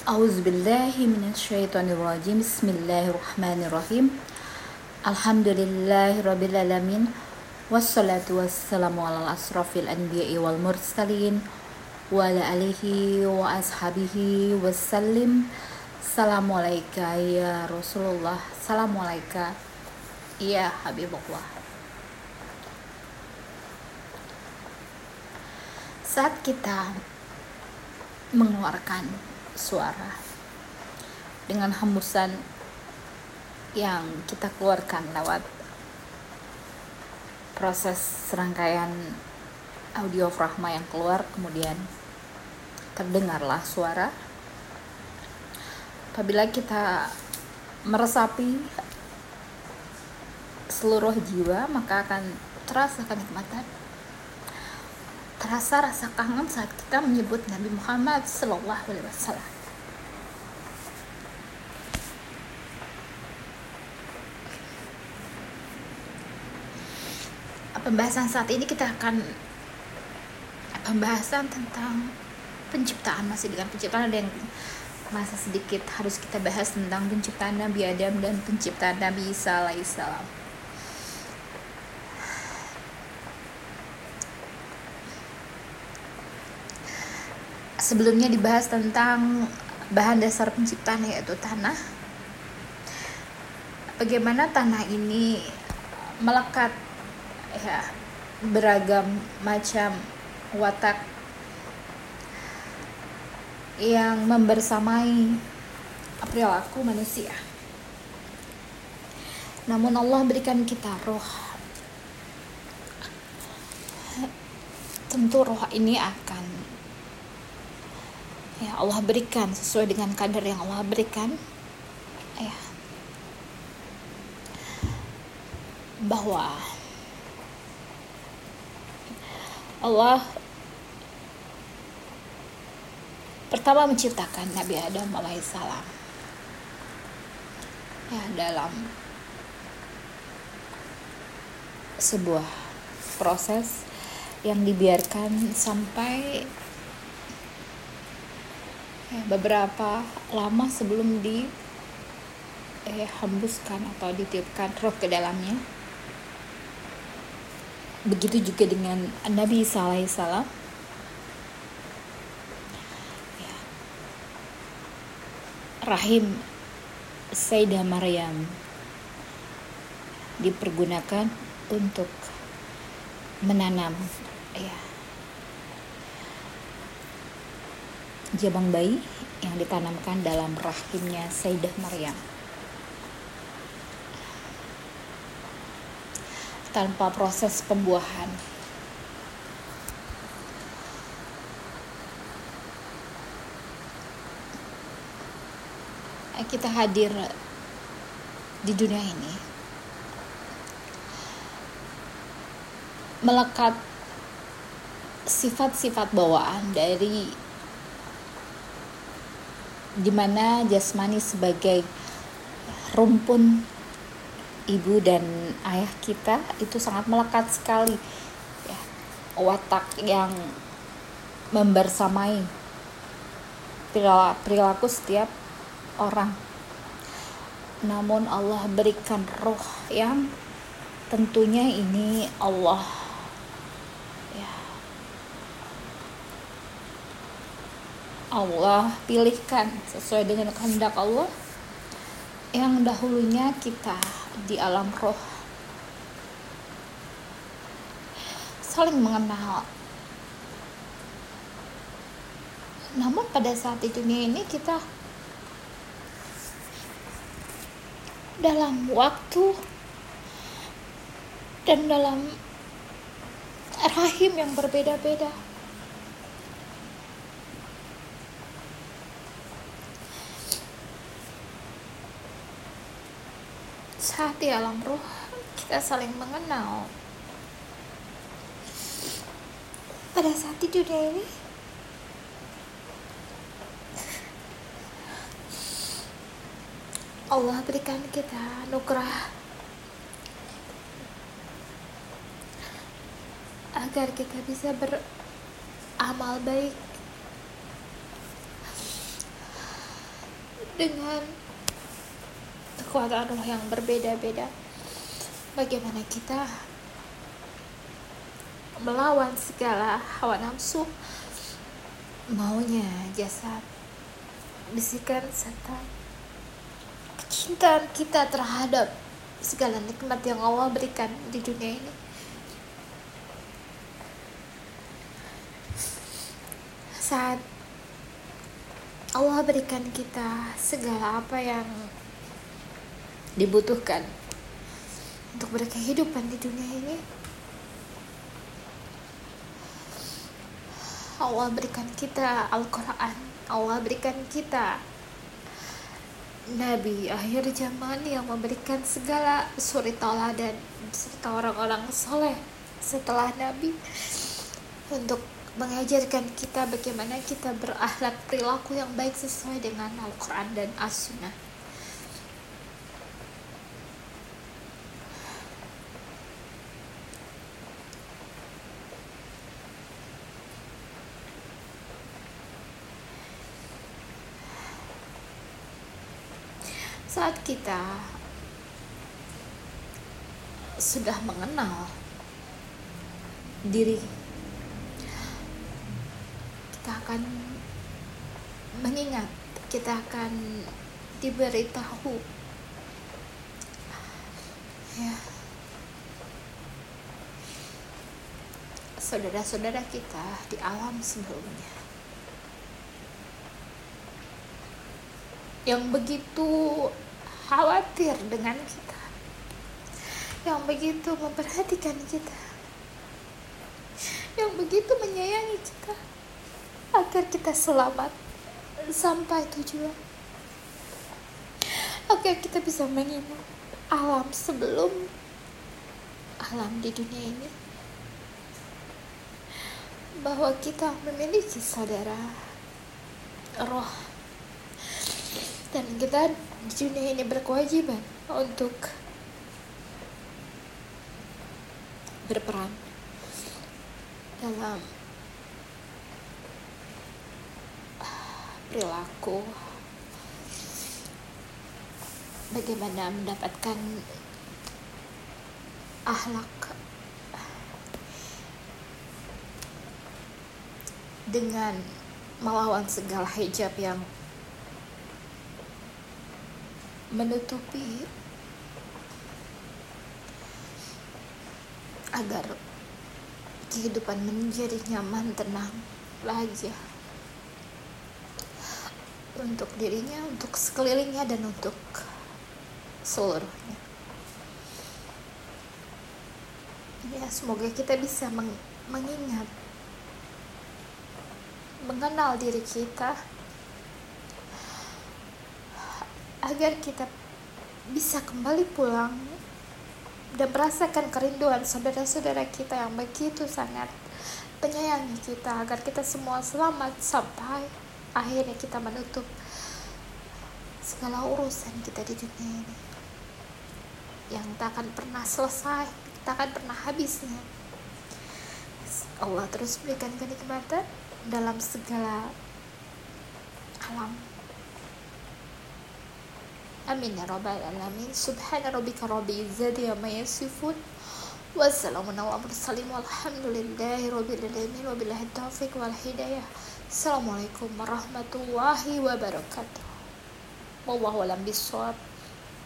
A'udzubillahi minasyaitonirrajim. Bismillahirrahmanirrahim. Alhamdulillahirabbil alamin. Wassalatu wassalamu ala asrofil anbiya'i wal mursalin wa ala alihi wa ashabihi wassalim. Assalamualaikum ya Rasulullah. Assalamualaikum ya Habibullah. Saat kita mengeluarkan suara dengan hembusan yang kita keluarkan lewat proses serangkaian audiofragma yang keluar, kemudian terdengarlah suara. Apabila kita meresapi seluruh jiwa, maka akan terasa kenikmatan, terasa rasa kangen saat kita menyebut Nabi Muhammad SAW. Pembahasan saat ini kita akan pembahasan tentang penciptaan. Masih dengan penciptaan, ada yang masa sedikit harus kita bahas tentang penciptaan Nabi Adam dan penciptaan Nabi Isa alaihissalam. Sebelumnya dibahas tentang bahan dasar penciptaan, yaitu tanah. Bagaimana tanah ini melekat beragam macam watak yang membersamai perilaku manusia. Namun Allah berikan kita roh. Tentu roh ini akan Allah berikan sesuai dengan kadar yang Allah berikan, bahwa Allah pertama menciptakan Nabi Adam alaihissalam dalam sebuah proses yang dibiarkan sampai beberapa lama sebelum dihembuskan atau ditiupkan roh ke dalamnya. Begitu juga dengan Nabi Isa alaihissalam. Rahim Sayyidah Maryam dipergunakan untuk menanam jabang bayi yang ditanamkan dalam rahimnya Sayyidah Maryam tanpa proses pembuahan. Kita hadir di dunia ini melekat sifat-sifat bawaan dari dimana jasmani sebagai rumpun ibu dan ayah kita itu sangat melekat sekali, watak yang membersamai perilaku setiap orang. Namun Allah berikan roh yang tentunya ini Allah pilihkan sesuai dengan kehendak Allah, yang dahulunya kita di alam roh saling mengenal. Namun pada saat di dunia ini kita dalam waktu dan dalam rahim yang berbeda-beda. Saat di alam roh kita saling mengenal. Pada saat di dunia ini Allah berikan kita anugerah agar kita bisa beramal baik dengan kekuatan Allah yang berbeda-beda. Bagaimana kita melawan segala hawa nafsu, maunya jasad, bisikan, serta kecintaan kita terhadap segala nikmat yang Allah berikan di dunia ini. Saat Allah berikan kita segala apa yang dibutuhkan untuk berkehidupan di dunia ini, Allah berikan kita Al-Quran, Allah berikan kita Nabi akhir zaman yang memberikan segala suri tauladan serta orang-orang soleh setelah Nabi untuk mengajarkan kita bagaimana kita berakhlak perilaku yang baik sesuai dengan Al-Quran dan As-Sunnah. Saat kita sudah mengenal diri, kita akan mengingat, kita akan diberitahu ya, saudara-saudara kita di alam sebelumnya yang begitu khawatir dengan kita, yang begitu memperhatikan kita, yang begitu menyayangi kita agar kita selamat sampai tujuan, agar kita bisa mengingat alam sebelum alam di dunia ini, bahwa kita memiliki saudara roh dan kita di dunia ini berkewajiban untuk berperan dalam perilaku, bagaimana mendapatkan akhlak dengan melawan segala hijab yang menutupi, agar kehidupan menjadi nyaman, tenang, bahagia untuk dirinya, untuk sekelilingnya, dan untuk seluruhnya. Ya, semoga kita bisa mengingat, mengenal diri kita, agar kita bisa kembali pulang dan merasakan kerinduan saudara-saudara kita yang begitu sangat menyayangi kita, agar kita semua selamat sampai akhirnya kita menutup segala urusan kita di dunia ini yang tak akan pernah selesai, tak akan pernah habisnya. Allah terus berikan kenikmatan dalam segala alam. Amin ya rabbal alamin. Subhana rabbika rabbil izzati amma yasifun, wassalamun ala mursalin, walhamdulillahi rabbil alamin, wabillahi taufiq wal hidayah. Assalamualaikum warahmatullahi wabarakatuh. Wallahu a'lam bishawab.